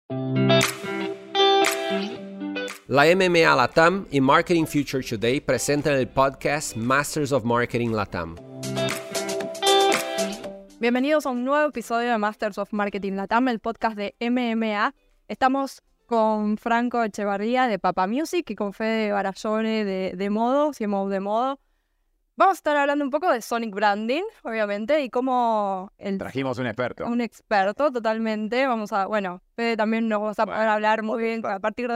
La MMA Latam y Marketing Future Today presentan el podcast Masters of Marketing Latam. Bienvenidos a un nuevo episodio de Masters of Marketing Latam, el podcast de MMA. Estamos con Franco Echevarría de Papa Music y con Fede Barallone de Modo, CMO de Modo. Vamos a estar hablando un poco de Sonic Branding, obviamente, y cómo... Trajimos un experto. Un experto, totalmente. Fede también nos va a poder hablar muy bien a partir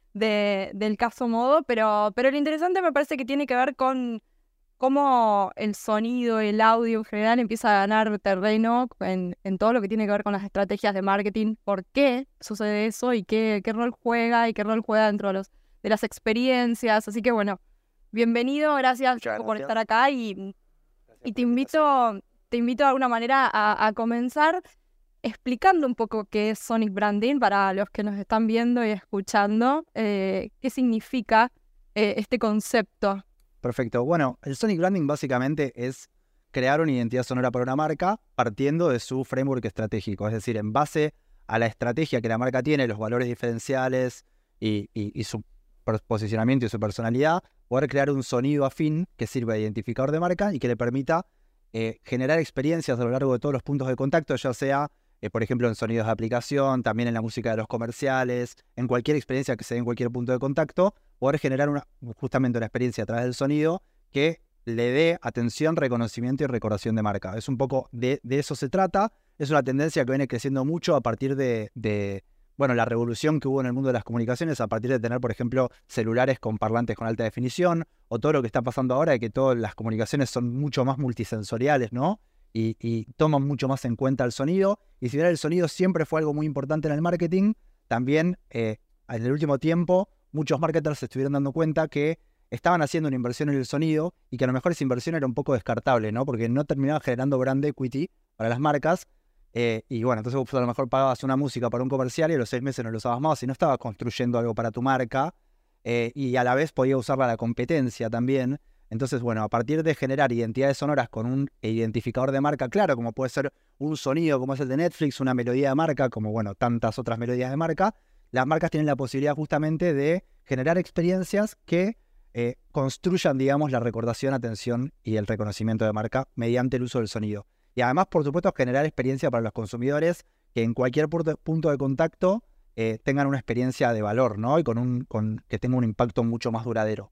del caso Modo, pero lo interesante me parece que tiene que ver con cómo el sonido, el audio en general empieza a ganar terreno en todo lo que tiene que ver con las estrategias de marketing, por qué sucede eso y qué rol juega dentro de las experiencias. Así que bueno, bienvenido, gracias por estar acá y te invito de alguna manera a comenzar explicando un poco qué es Sonic Branding para los que nos están viendo y escuchando, qué significa este concepto. Perfecto. Bueno, el Sonic Branding básicamente es crear una identidad sonora para una marca partiendo de su framework estratégico. Es decir, en base a la estrategia que la marca tiene, los valores diferenciales y su posicionamiento y su personalidad, poder crear un sonido afín que sirva de identificador de marca y que le permita generar experiencias a lo largo de todos los puntos de contacto, ya sea, por ejemplo, en sonidos de aplicación, también en la música de los comerciales, en cualquier experiencia que se dé en cualquier punto de contacto, poder generar justamente una experiencia a través del sonido que le dé atención, reconocimiento y recordación de marca. Es un poco de eso se trata. Es una tendencia que viene creciendo mucho a partir de la revolución que hubo en el mundo de las comunicaciones, a partir de tener, por ejemplo, celulares con parlantes con alta definición, o todo lo que está pasando ahora de que todas las comunicaciones son mucho más multisensoriales, ¿no? Y toman mucho más en cuenta el sonido. Y si bien el sonido siempre fue algo muy importante en el marketing, también en el último tiempo muchos marketers se estuvieron dando cuenta que estaban haciendo una inversión en el sonido y que a lo mejor esa inversión era un poco descartable, ¿no? Porque no terminaba generando brand equity para las marcas. Y bueno, entonces vos a lo mejor pagabas una música para un comercial y a los 6 meses no lo usabas más y no estabas construyendo algo para tu marca. Y a la vez podía usarla la competencia también. Entonces, bueno, a partir de generar identidades sonoras con un identificador de marca claro, como puede ser un sonido como es el de Netflix, una melodía de marca, como bueno, tantas otras melodías de marca, las marcas tienen la posibilidad justamente de generar experiencias que construyan, digamos, la recordación, atención y el reconocimiento de marca mediante el uso del sonido. Y además, por supuesto, generar experiencia para los consumidores que en cualquier punto de contacto tengan una experiencia de valor, ¿no? Y que tenga un impacto mucho más duradero.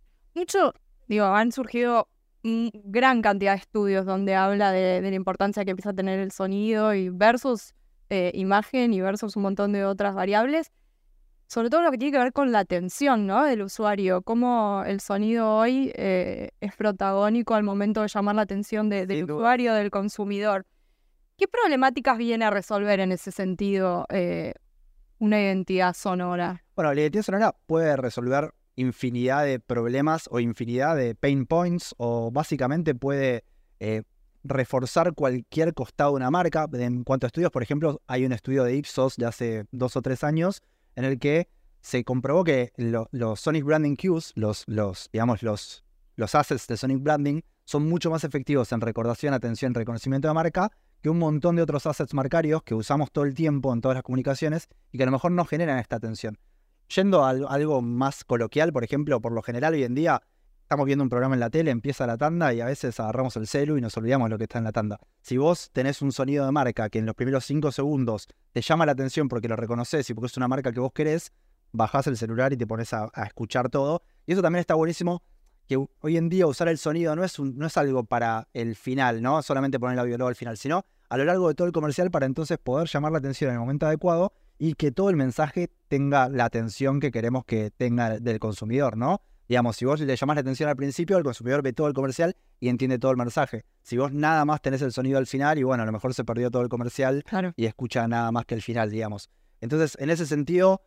Han surgido gran cantidad de estudios donde habla de la importancia que empieza a tener el sonido y versus imagen y versus un montón de otras variables. Sobre todo lo que tiene que ver con la atención, ¿no?, del usuario, cómo el sonido hoy es protagónico al momento de llamar la atención del usuario, del consumidor. ¿Qué problemáticas viene a resolver en ese sentido una identidad sonora? Bueno, la identidad sonora puede resolver infinidad de problemas o infinidad de pain points, o básicamente puede reforzar cualquier costado de una marca. En cuanto a estudios, por ejemplo, hay un estudio de Ipsos de hace 2 o 3 años en el que se comprobó que los Sonic Branding Cues, los assets de Sonic Branding, son mucho más efectivos en recordación, atención, reconocimiento de marca que un montón de otros assets marcarios que usamos todo el tiempo en todas las comunicaciones y que a lo mejor no generan esta atención. Yendo a algo más coloquial, por ejemplo, por lo general hoy en día estamos viendo un programa en la tele, empieza la tanda y a veces agarramos el celu y nos olvidamos lo que está en la tanda. Si vos tenés un sonido de marca que en los primeros 5 segundos te llama la atención porque lo reconoces y porque es una marca que vos querés, bajás el celular y te pones a escuchar todo. Y eso también está buenísimo, que hoy en día usar el sonido no es algo para el final, ¿no? Solamente poner el audio luego al final, sino a lo largo de todo el comercial para entonces poder llamar la atención en el momento adecuado y que todo el mensaje tenga la atención que queremos que tenga del consumidor, ¿no? Digamos, si vos le llamás la atención al principio, el consumidor ve todo el comercial y entiende todo el mensaje. Si vos nada más tenés el sonido al final, y bueno, a lo mejor se perdió todo el comercial, claro, y escucha nada más que el final, digamos. Entonces, en ese sentido,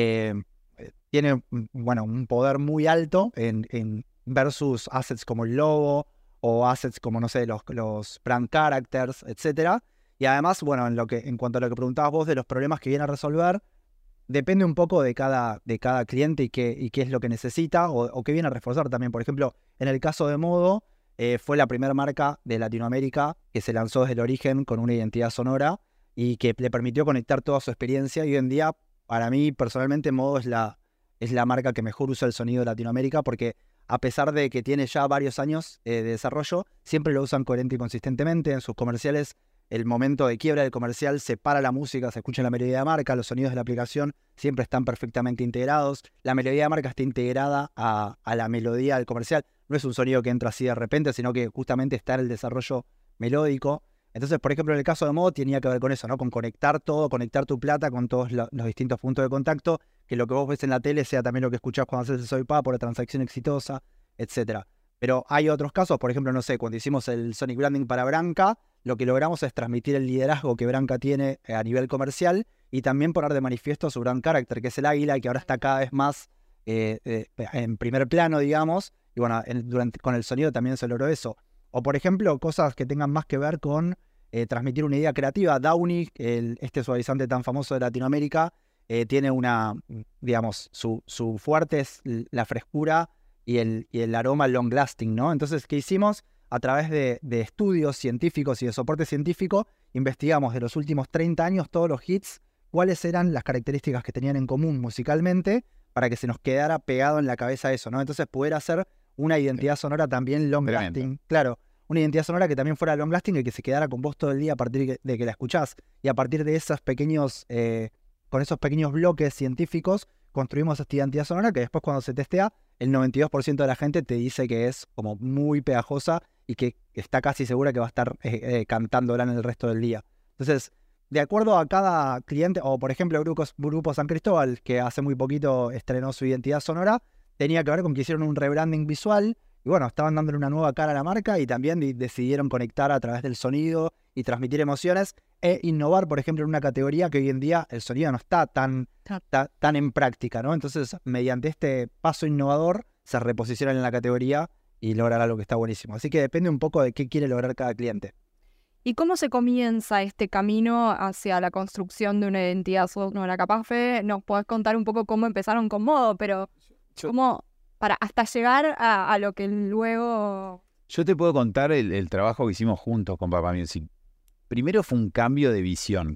tiene, bueno, un poder muy alto en versus assets como el logo o assets como, no sé, los brand characters, etcétera. Y además, bueno, en cuanto a lo que preguntabas vos de los problemas que viene a resolver, depende un poco de cada cliente y qué es lo que necesita o qué viene a reforzar también. Por ejemplo, en el caso de Modo, fue la primera marca de Latinoamérica que se lanzó desde el origen con una identidad sonora y que le permitió conectar toda su experiencia. Y hoy en día para mí personalmente Modo es la marca que mejor usa el sonido de Latinoamérica, porque a pesar de que tiene ya varios años de desarrollo, siempre lo usan coherente y consistentemente. En sus comerciales, el momento de quiebra del comercial se para la música, se escucha la melodía de marca, los sonidos de la aplicación siempre están perfectamente integrados. La melodía de marca está integrada a la melodía del comercial. No es un sonido que entra así de repente, sino que justamente está en el desarrollo melódico. Entonces, por ejemplo, en el caso de Modo tenía que ver con eso, ¿no? Con conectar todo, conectar tu plata con todos los distintos puntos de contacto, que lo que vos ves en la tele sea también lo que escuchás cuando haces el swipe up por la transacción exitosa, etcétera. Pero hay otros casos, por ejemplo, no sé, cuando hicimos el Sonic Branding para Branca, lo que logramos es transmitir el liderazgo que Branca tiene a nivel comercial y también poner de manifiesto su brand character, que es el águila, y que ahora está cada vez más en primer plano, digamos, y bueno, con el sonido también se logró eso. O por ejemplo, cosas que tengan más que ver con transmitir una idea creativa. Downy, este suavizante tan famoso de Latinoamérica, tiene digamos, su fuerte es la frescura y el aroma long lasting, ¿no? Entonces, ¿qué hicimos? A través de estudios científicos y de soporte científico, investigamos de los últimos 30 años todos los hits, cuáles eran las características que tenían en común musicalmente, para que se nos quedara pegado en la cabeza eso, ¿no? Entonces, poder hacer una identidad sonora también long lasting. Claro, una identidad sonora que también fuera long lasting y que se quedara con vos todo el día a partir de que la escuchás. Y a partir de esos pequeños, con esos pequeños bloques científicos, construimos esta identidad sonora que después cuando se testea, el 92% de la gente te dice que es como muy pegajosa y que está casi segura que va a estar cantándola en el resto del día. Entonces, de acuerdo a cada cliente, o por ejemplo Grupo San Cristóbal, que hace muy poquito estrenó su identidad sonora, tenía que ver con que hicieron un rebranding visual y bueno, estaban dándole una nueva cara a la marca y también decidieron conectar a través del sonido y transmitir emociones e innovar, por ejemplo, en una categoría que hoy en día el sonido no está tan en práctica, ¿no? Entonces, mediante este paso innovador, se reposicionan en la categoría y logran algo que está buenísimo. Así que depende un poco de qué quiere lograr cada cliente. ¿Y cómo se comienza este camino hacia la construcción de una identidad sonora? Capaz, Fede, nos podés contar un poco cómo empezaron con Modo, pero cómo para hasta llegar a lo que luego... Yo te puedo contar el trabajo que hicimos juntos con Papa Music. Primero fue un cambio de visión,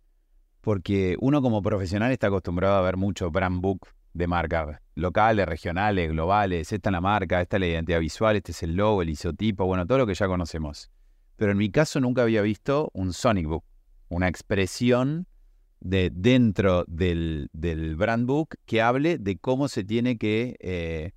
porque uno como profesional está acostumbrado a ver mucho brand book de marca, locales, regionales, globales. Esta es la marca, esta es la identidad visual, este es el logo, el isotipo, bueno, todo lo que ya conocemos. Pero en mi caso nunca había visto un Sonic Book, una expresión de dentro del brand book que hable de cómo se tiene que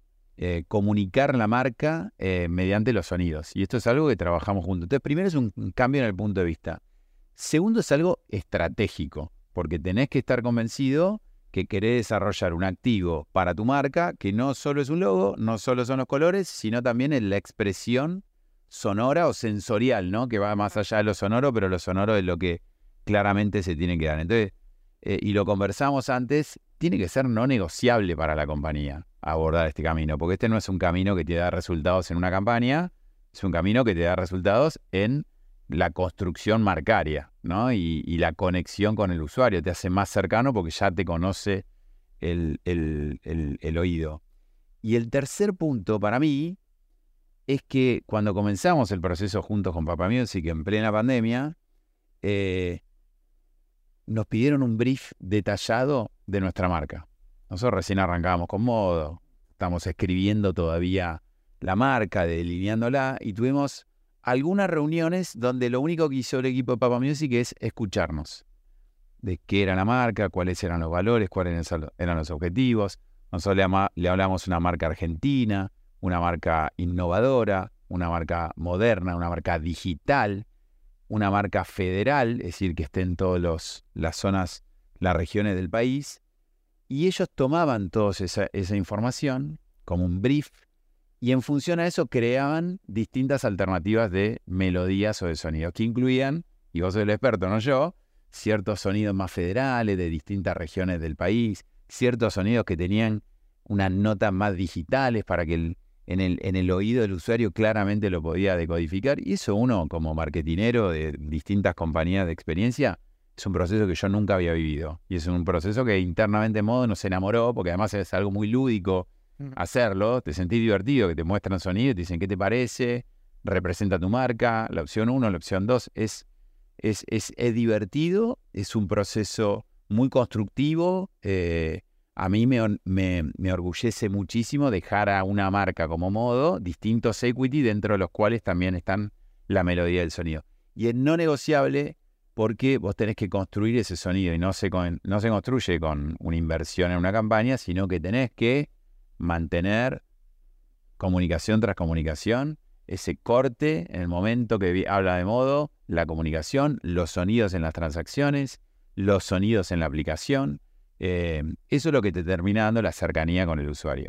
comunicar la marca mediante los sonidos. Y esto es algo que trabajamos juntos. Entonces, primero es un cambio en el punto de vista. Segundo es algo estratégico, porque tenés que estar convencido que querés desarrollar un activo para tu marca que no solo es un logo, no solo son los colores, sino también en la expresión sonora o sensorial, ¿no? Que va más allá de lo sonoro, pero lo sonoro es lo que claramente se tiene que dar. Entonces, y lo conversamos antes, tiene que ser no negociable para la compañía abordar este camino, porque este no es un camino que te da resultados en una campaña, es un camino que te da resultados en la construcción marcaria, ¿no? Y la conexión con el usuario, te hace más cercano porque ya te conoce el oído. Y el tercer punto para mí es que cuando comenzamos el proceso juntos con Papa Music en plena pandemia, nos pidieron un brief detallado de nuestra marca. Nosotros recién arrancábamos con Modo, estamos escribiendo todavía la marca, delineándola, y tuvimos algunas reuniones donde lo único que hizo el equipo de Papa Music es escucharnos. De qué era la marca, cuáles eran los valores, cuáles eran los objetivos. Nosotros le hablamos una marca argentina, una marca innovadora, una marca moderna, una marca digital, una marca federal, es decir, que esté en todas las zonas, las regiones del país. Y ellos tomaban toda esa información como un brief y en función a eso creaban distintas alternativas de melodías o de sonidos que incluían, y vos sos el experto, no yo, ciertos sonidos más federales de distintas regiones del país, ciertos sonidos que tenían unas notas más digitales para que en el oído del usuario claramente lo podía decodificar. Y eso uno como marketinero de distintas compañías de experiencia es un proceso que yo nunca había vivido. Y es un proceso que internamente en Modo nos enamoró, porque además es algo muy lúdico hacerlo. Te sentís divertido, que te muestran sonido y te dicen qué te parece, representa tu marca. La opción 1, la opción 2 es divertido, es un proceso muy constructivo. A mí me orgullece muchísimo dejar a una marca como Modo distintos equity dentro de los cuales también están la melodía del sonido. Y es no negociable porque vos tenés que construir ese sonido y no se construye con una inversión en una campaña, sino que tenés que mantener comunicación tras comunicación, ese corte en el momento que habla de Modo, la comunicación, los sonidos en las transacciones, los sonidos en la aplicación. Eso es lo que te termina dando la cercanía con el usuario.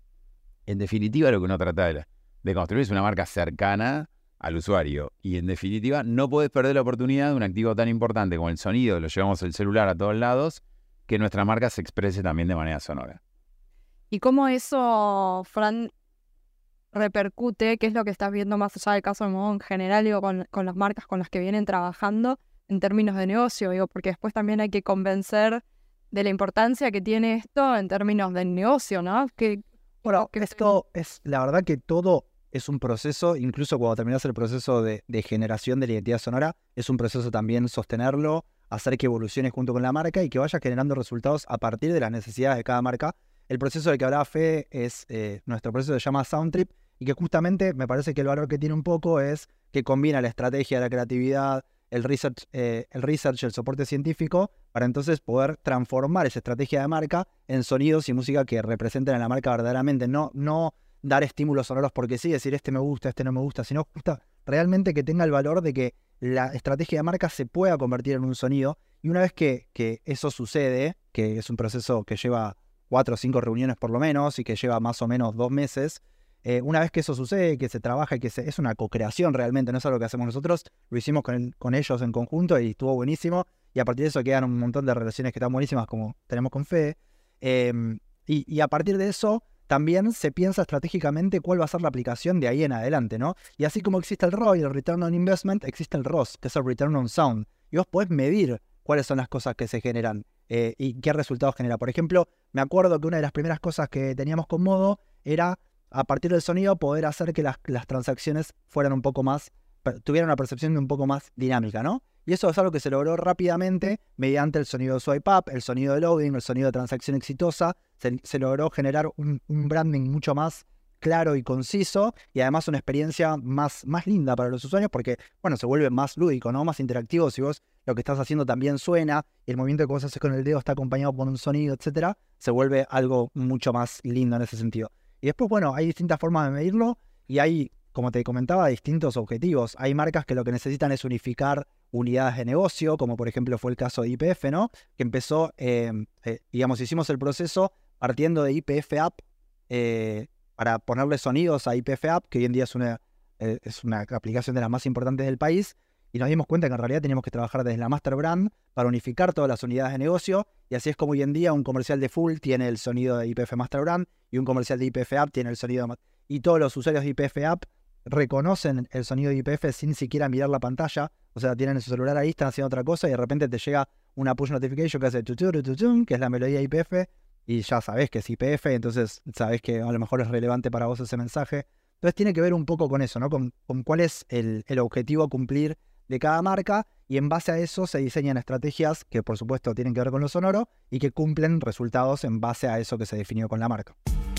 En definitiva, lo que uno trata de construir es una marca cercana al usuario. Y en definitiva, no podés perder la oportunidad de un activo tan importante como el sonido, lo llevamos el celular a todos lados, que nuestra marca se exprese también de manera sonora. ¿Y cómo eso, Fran, repercute? ¿Qué es lo que estás viendo más allá del caso de Modo en general, digo, con las marcas con las que vienen trabajando en términos de negocio? Digo, porque después también hay que convencer de la importancia que tiene esto en términos del negocio, ¿no? Bueno, esto es, la verdad que todo es un proceso, incluso cuando terminas el proceso de generación de la identidad sonora, es un proceso también sostenerlo, hacer que evolucione junto con la marca y que vaya generando resultados a partir de las necesidades de cada marca. El proceso del que hablaba Fede es nuestro proceso que se llama Soundtrip y que justamente me parece que el valor que tiene un poco es que combina la estrategia, la creatividad, el research, el soporte científico, para entonces poder transformar esa estrategia de marca en sonidos y música que representen a la marca verdaderamente. No dar estímulos sonoros porque sí, decir este me gusta, este no me gusta, sino realmente que tenga el valor de que la estrategia de marca se pueda convertir en un sonido. Y una vez que eso sucede, que es un proceso que lleva 4 o 5 reuniones por lo menos y que lleva más o menos 2 meses, una vez que eso sucede, que se trabaja y que es una co-creación realmente, no es algo que hacemos nosotros, lo hicimos con ellos en conjunto y estuvo buenísimo, y a partir de eso quedan un montón de relaciones que están buenísimas como tenemos con Fede, y a partir de eso también se piensa estratégicamente cuál va a ser la aplicación de ahí en adelante, ¿no? Y así como existe el ROI, el Return on Investment, existe el ROS, que es el Return on Sound, y vos podés medir cuáles son las cosas que se generan y qué resultados genera. Por ejemplo, me acuerdo que una de las primeras cosas que teníamos con Modo era, a partir del sonido, poder hacer que las transacciones fueran un poco más, tuvieran una percepción de un poco más dinámica, ¿no? Y eso es algo que se logró rápidamente mediante el sonido de swipe up, el sonido de loading, el sonido de transacción exitosa. Se logró generar un branding mucho más claro y conciso y además una experiencia más linda para los usuarios porque, bueno, se vuelve más lúdico, ¿no? Más interactivo. Si vos lo que estás haciendo también suena y el movimiento que vos haces con el dedo está acompañado por un sonido, etcétera, se vuelve algo mucho más lindo en ese sentido. Y después, bueno, hay distintas formas de medirlo y hay, como te comentaba, distintos objetivos. Hay marcas que lo que necesitan es unificar unidades de negocio, como por ejemplo fue el caso de YPF, ¿no? Que empezó, digamos, hicimos el proceso partiendo de YPF App para ponerle sonidos a YPF App, que hoy en día es una aplicación de las más importantes del país, y nos dimos cuenta que en realidad teníamos que trabajar desde la Master Brand para unificar todas las unidades de negocio, y así es como hoy en día un comercial de Full tiene el sonido de YPF Master Brand, y un comercial de YPF App tiene el sonido de... Y todos los usuarios de YPF App reconocen el sonido de YPF sin siquiera mirar la pantalla, o sea, tienen su celular ahí, están haciendo otra cosa, y de repente te llega una push notification que hace tututututun, que es la melodía de YPF, y ya sabés que es YPF, entonces sabés que a lo mejor es relevante para vos ese mensaje. Entonces tiene que ver un poco con eso, ¿no? Con cuál es el objetivo a cumplir de cada marca, y en base a eso se diseñan estrategias que por supuesto tienen que ver con lo sonoro y que cumplen resultados en base a eso que se definió con la marca.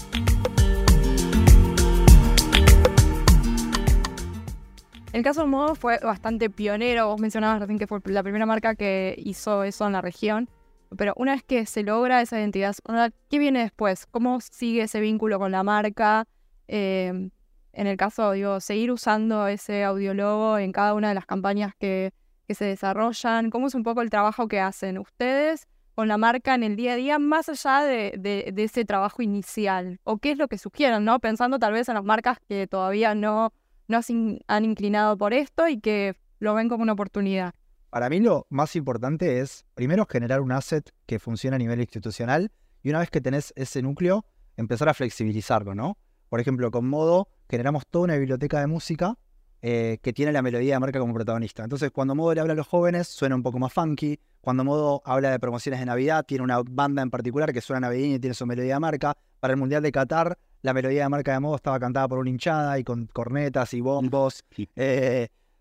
El caso de Modo fue bastante pionero. Vos mencionabas recién que fue la primera marca que hizo eso en la región. Pero una vez que se logra esa identidad sonora, ¿qué viene después? ¿Cómo sigue ese vínculo con la marca? En el caso, digo, seguir usando ese audiologo en cada una de las campañas que se desarrollan. ¿Cómo es un poco el trabajo que hacen ustedes con la marca en el día a día, más allá de ese trabajo inicial? ¿O qué es lo que sugieren, ¿no? Pensando tal vez en las marcas que todavía no se han inclinado por esto y que lo ven como una oportunidad. Para mí lo más importante es, primero, generar un asset que funcione a nivel institucional, y una vez que tenés ese núcleo, empezar a flexibilizarlo, ¿no? Por ejemplo, con Modo generamos toda una biblioteca de música que tiene la melodía de marca como protagonista. Entonces, cuando Modo le habla a los jóvenes, suena un poco más funky. Cuando Modo habla de promociones de Navidad, tiene una banda en particular que suena navideña y tiene su melodía de marca. Para el Mundial de Qatar, la melodía de marca de Modo estaba cantada por una hinchada y con cornetas y bombos.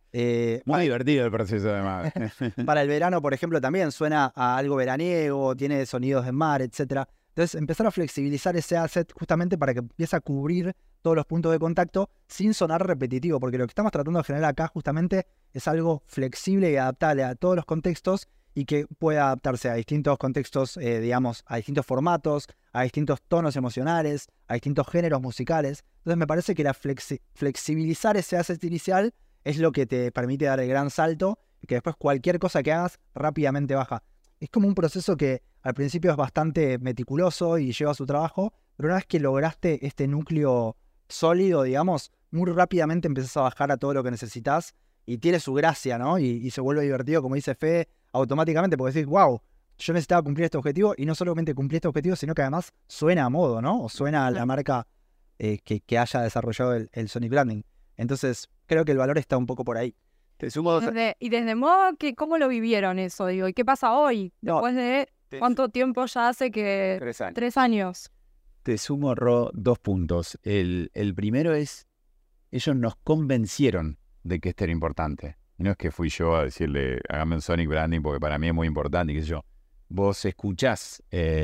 Muy divertido el proceso además. Para el verano, por ejemplo, también suena a algo veraniego, tiene sonidos de mar, etcétera. Entonces, empezar a flexibilizar ese asset justamente para que empiece a cubrir todos los puntos de contacto sin sonar repetitivo, porque lo que estamos tratando de generar acá justamente es algo flexible y adaptable a todos los contextos y que pueda adaptarse a distintos contextos, digamos, a distintos formatos, a distintos tonos emocionales, a distintos géneros musicales. Entonces, me parece que flexibilizar ese asset inicial es lo que te permite dar el gran salto y que después cualquier cosa que hagas rápidamente baja. Es como un proceso que al principio es bastante meticuloso y lleva su trabajo, pero una vez que lograste este núcleo sólido, digamos, muy rápidamente empezás a bajar a todo lo que necesitas y tiene su gracia, ¿no? Y se vuelve divertido, como dice Fede, automáticamente, porque decís, wow, yo necesitaba cumplir este objetivo y no solamente cumplir este objetivo, sino que además suena a modo, ¿no? O suena a la marca que haya desarrollado el Sonic Branding. Entonces, creo que el valor está un poco por ahí. Te sumo dos... Y desde modo, ¿cómo lo vivieron eso? Digo, ¿y qué pasa hoy? No, Después de cuánto tiempo ya hace que... 3 años. 3 años. Te sumo, Ro, 2 puntos. El primero es, ellos nos convencieron de que esto era importante. Y no es que fui yo a decirle, hágame un Sonic Branding porque para mí es muy importante, y qué sé yo. Vos escuchás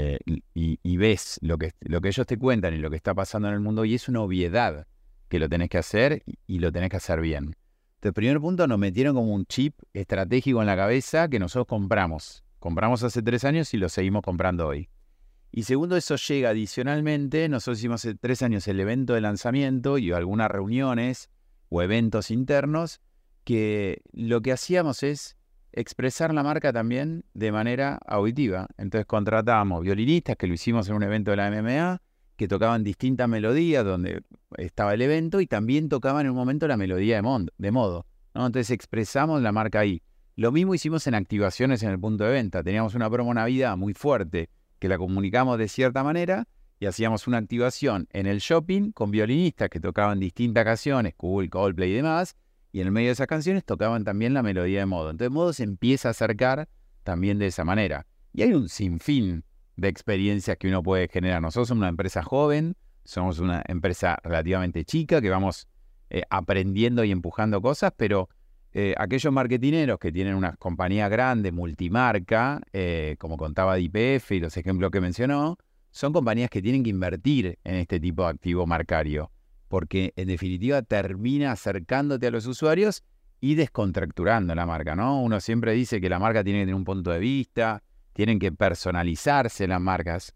y ves lo que ellos te cuentan y lo que está pasando en el mundo, y es una obviedad que lo tenés que hacer y lo tenés que hacer bien. Entonces, primer punto, nos metieron como un chip estratégico en la cabeza que nosotros compramos. Compramos hace 3 años y lo seguimos comprando hoy. Y segundo, eso llega adicionalmente. Nosotros hicimos hace 3 años el evento de lanzamiento y algunas reuniones o eventos internos que lo que hacíamos es expresar la marca también de manera auditiva. Entonces contratábamos violinistas, que lo hicimos en un evento de la MMA, que tocaban distintas melodías donde estaba el evento y también tocaban en un momento la melodía de modo, ¿no? Entonces expresamos la marca ahí. Lo mismo hicimos en activaciones en el punto de venta. Teníamos una promo Navidad muy fuerte que la comunicamos de cierta manera y hacíamos una activación en el shopping con violinistas que tocaban distintas canciones, Coldplay y demás, y en el medio de esas canciones tocaban también la melodía de modo. Entonces modo se empieza a acercar también de esa manera. Y hay un sinfín de experiencias que uno puede generar. Nosotros somos una empresa joven, somos una empresa relativamente chica que vamos aprendiendo y empujando cosas, pero aquellos marketineros que tienen unas compañías grandes, multimarca, como contaba DPF y los ejemplos que mencionó, son compañías que tienen que invertir en este tipo de activo marcario, porque en definitiva termina acercándote a los usuarios y descontracturando la marca, ¿no? Uno siempre dice que la marca tiene que tener un punto de vista, tienen que personalizarse las marcas,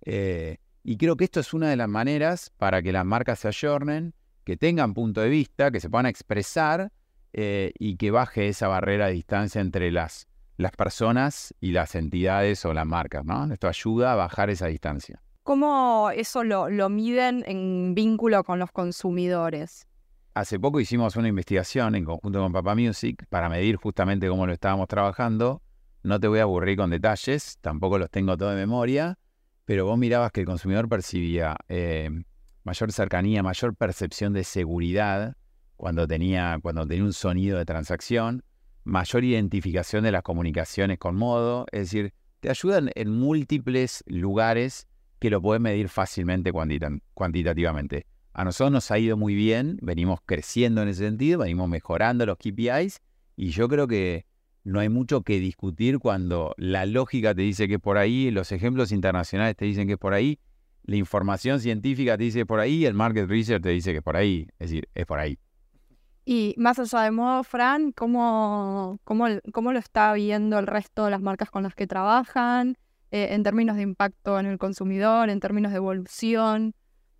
y creo que esto es una de las maneras para que las marcas se ayornen, que tengan punto de vista, que se puedan expresar, y que baje esa barrera de distancia entre las personas y las entidades o las marcas, ¿no? Esto ayuda a bajar esa distancia. ¿Cómo eso lo miden en vínculo con los consumidores? Hace poco hicimos una investigación en conjunto con Papa Music para medir justamente cómo lo estábamos trabajando. No te voy a aburrir con detalles, tampoco los tengo todo de memoria, pero vos mirabas que el consumidor percibía mayor cercanía, mayor percepción de seguridad cuando tenía un sonido de transacción, mayor identificación de las comunicaciones con modo, es decir, te ayudan en múltiples lugares que lo puedes medir fácilmente cuantitativamente. A nosotros nos ha ido muy bien, venimos creciendo en ese sentido, venimos mejorando los KPIs y yo creo que no hay mucho que discutir cuando la lógica te dice que es por ahí, los ejemplos internacionales te dicen que es por ahí, la información científica te dice que es por ahí, el market research te dice que es por ahí, es decir, es por ahí. Y más allá de modo, Fran, ¿cómo lo está viendo el resto de las marcas con las que trabajan, en términos de impacto en el consumidor, en términos de evolución?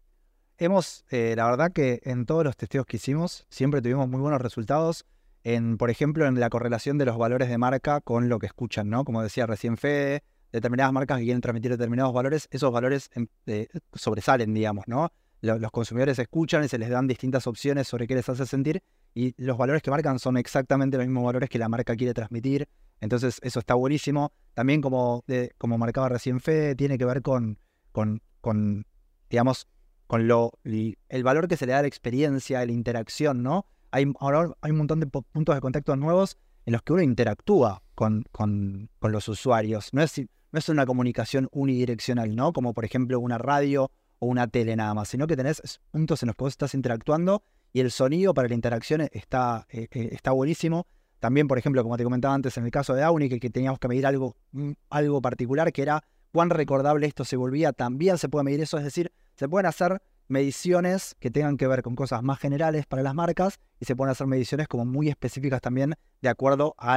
La verdad que en todos los testeos que hicimos siempre tuvimos muy buenos resultados por ejemplo, en la correlación de los valores de marca con lo que escuchan, ¿no? Como decía recién Fede, determinadas marcas que quieren transmitir determinados valores, esos valores sobresalen, digamos, ¿no? Los consumidores escuchan y se les dan distintas opciones sobre qué les hace sentir y los valores que marcan son exactamente los mismos valores que la marca quiere transmitir. Entonces eso está buenísimo. También como marcaba recién Fede, tiene que ver con digamos, con el valor que se le da a la experiencia, a la interacción, ¿no? Ahora hay un montón de puntos de contacto nuevos en los que uno interactúa con los usuarios. No es una comunicación unidireccional, ¿no? Como por ejemplo una radio o una tele nada más, sino que tenés puntos en los que vos estás interactuando y el sonido para la interacción está buenísimo. También, por ejemplo, como te comentaba antes, en el caso de Auni, que teníamos que medir algo particular, que era cuán recordable esto se volvía, también se puede medir eso, es decir, se pueden hacer mediciones que tengan que ver con cosas más generales para las marcas y se pueden hacer mediciones como muy específicas también de acuerdo a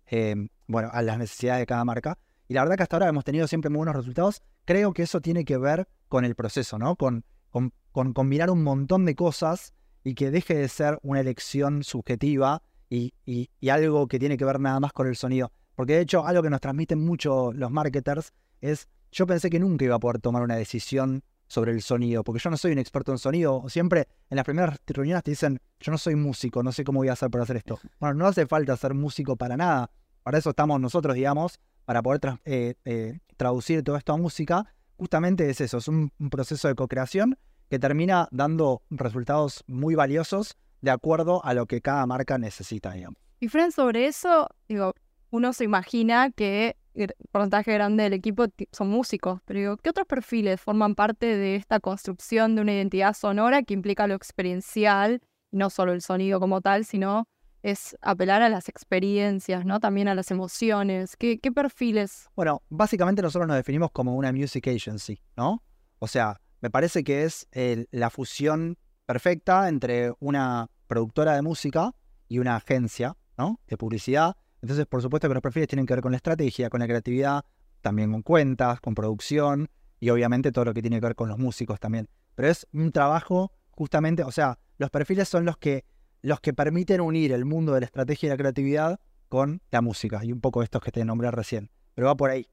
a las necesidades de cada marca. Y la verdad que hasta ahora hemos tenido siempre muy buenos resultados. Creo que eso tiene que ver con el proceso, ¿no? Con combinar un montón de cosas y que deje de ser una elección subjetiva y algo que tiene que ver nada más con el sonido. Porque de hecho, algo que nos transmiten mucho los marketers es, yo pensé que nunca iba a poder tomar una decisión sobre el sonido, porque yo no soy un experto en sonido. Siempre en las primeras reuniones te dicen, yo no soy músico, no sé cómo voy a hacer para hacer esto. Bueno, no hace falta ser músico para nada. Para eso estamos nosotros, digamos, para poder traducir todo esto a música. Justamente es eso, es un proceso de co-creación que termina dando resultados muy valiosos de acuerdo a lo que cada marca necesita, digamos. Y Fran, sobre eso, digo, uno se imagina que el porcentaje grande del equipo son músicos, pero digo, ¿qué otros perfiles forman parte de esta construcción de una identidad sonora que implica lo experiencial, no solo el sonido como tal, sino es apelar a las experiencias, ¿no? También a las emociones. ¿Qué perfiles? Bueno, básicamente nosotros nos definimos como una music agency, ¿no? O sea, me parece que es la fusión perfecta entre una productora de música y una agencia, ¿no? De publicidad. Entonces, por supuesto que los perfiles tienen que ver con la estrategia, con la creatividad, también con cuentas, con producción y obviamente todo lo que tiene que ver con los músicos también. Pero es un trabajo justamente, o sea, los perfiles son los que permiten unir el mundo de la estrategia y la creatividad con la música y un poco estos que te nombré recién. Pero va por ahí.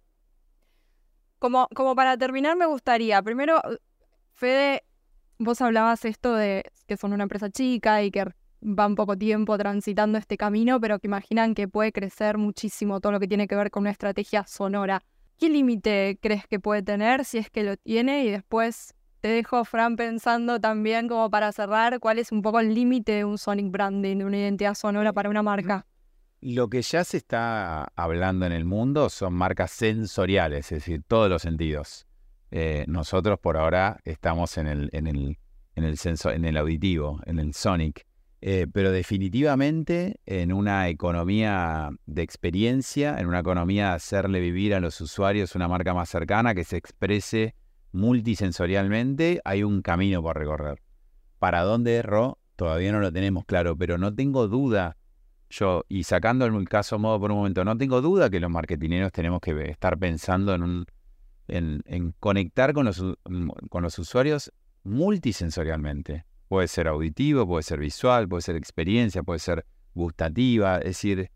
Como para terminar, me gustaría, primero, Fede, vos hablabas esto de que son una empresa chica y que van poco tiempo transitando este camino, pero que imaginan que puede crecer muchísimo todo lo que tiene que ver con una estrategia sonora. ¿Qué límite crees que puede tener, si es que lo tiene? Y después te dejo, Fran, pensando también, como para cerrar, cuál es un poco el límite de un sonic branding, de una identidad sonora para una marca. Lo que ya se está hablando en el mundo son marcas sensoriales, es decir, todos los sentidos. Nosotros por ahora estamos en el auditivo, en el sonic. Pero definitivamente en una economía de experiencia, en una economía de hacerle vivir a los usuarios una marca más cercana que se exprese multisensorialmente, hay un camino por recorrer. ¿Para dónde erró? Todavía no lo tenemos claro, pero no tengo duda, y sacando el caso modo por un momento, no tengo duda que los marketineros tenemos que estar pensando en conectar con los usuarios multisensorialmente. Puede ser auditivo, puede ser visual, puede ser experiencia, puede ser gustativa. Es decir,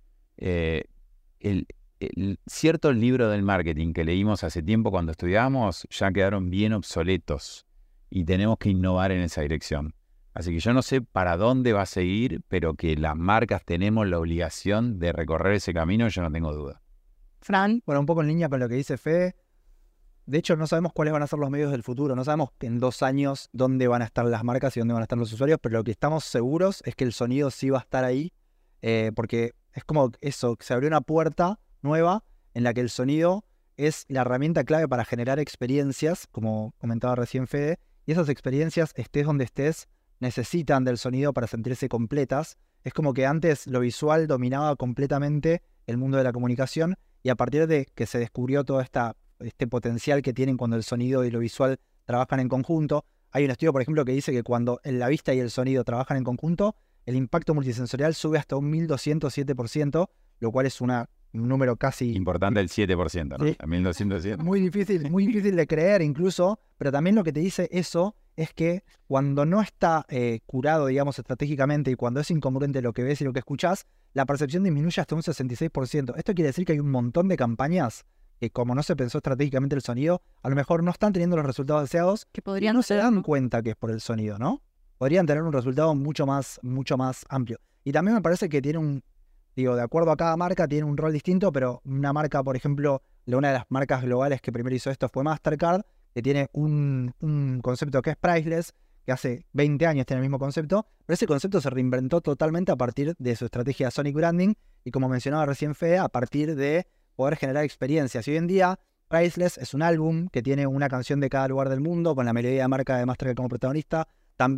ciertos libros del marketing que leímos hace tiempo cuando estudiábamos ya quedaron bien obsoletos y tenemos que innovar en esa dirección. Así que yo no sé para dónde va a seguir, pero que las marcas tenemos la obligación de recorrer ese camino, yo no tengo duda. Fran. Bueno, un poco en línea con lo que dice Fede. De hecho, no sabemos cuáles van a ser los medios del futuro. No sabemos en 2 años dónde van a estar las marcas y dónde van a estar los usuarios, pero lo que estamos seguros es que el sonido sí va a estar ahí, porque es como eso, se abrió una puerta nueva en la que el sonido es la herramienta clave para generar experiencias, como comentaba recién Fede, y esas experiencias, estés donde estés, necesitan del sonido para sentirse completas. Es como que antes lo visual dominaba completamente el mundo de la comunicación y a partir de que se descubrió todo este potencial que tienen cuando el sonido y lo visual trabajan en conjunto. Hay un estudio, por ejemplo, que dice que cuando la vista y el sonido trabajan en conjunto, el impacto multisensorial sube hasta un 1207%, lo cual es un número casi... Importante el 7%, ¿no? Sí. 1207. Muy difícil de creer incluso, pero también lo que te dice eso es que cuando no está curado, digamos, estratégicamente y cuando es incongruente lo que ves y lo que escuchás, la percepción disminuye hasta un 66%. Esto quiere decir que hay un montón de campañas que como no se pensó estratégicamente el sonido, a lo mejor no están teniendo los resultados deseados Que podrían y no se ser, dan ¿no? cuenta que es por el sonido, ¿no? Podrían tener un resultado mucho más amplio. Y también me parece que tiene de acuerdo a cada marca, tiene un rol distinto, pero una marca, por ejemplo, una de las marcas globales que primero hizo esto fue Mastercard, que tiene un concepto que es priceless, que hace 20 años tiene el mismo concepto, pero ese concepto se reinventó totalmente a partir de su estrategia Sonic Branding y, como mencionaba recién Fede, a partir de poder generar experiencias. Y hoy en día, Priceless es un álbum que tiene una canción de cada lugar del mundo, con la melodía de marca de Mastercard como protagonista. También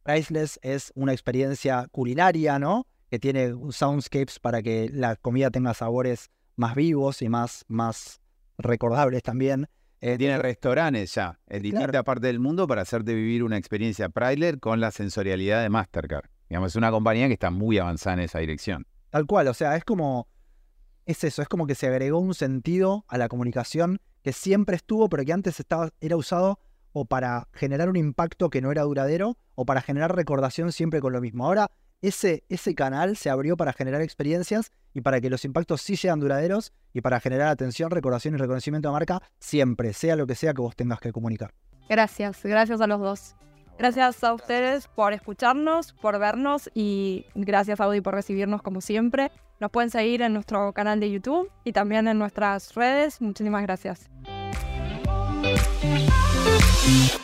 Priceless es una experiencia culinaria, ¿no? Que tiene soundscapes para que la comida tenga sabores más vivos y más recordables también. Tiene restaurantes ya, en distintas partes del mundo para hacerte vivir una experiencia Priceless con la sensorialidad de Mastercard. Digamos, es una compañía que está muy avanzada en esa dirección. Tal cual, o sea, es como que se agregó un sentido a la comunicación que siempre estuvo, pero que antes era usado o para generar un impacto que no era duradero o para generar recordación siempre con lo mismo. Ahora, ese canal se abrió para generar experiencias y para que los impactos sí sean duraderos y para generar atención, recordación y reconocimiento de marca siempre, sea lo que sea que vos tengas que comunicar. Gracias a los dos. Gracias a ustedes por escucharnos, por vernos y gracias Audi por recibirnos como siempre. Nos pueden seguir en nuestro canal de YouTube y también en nuestras redes. Muchísimas gracias.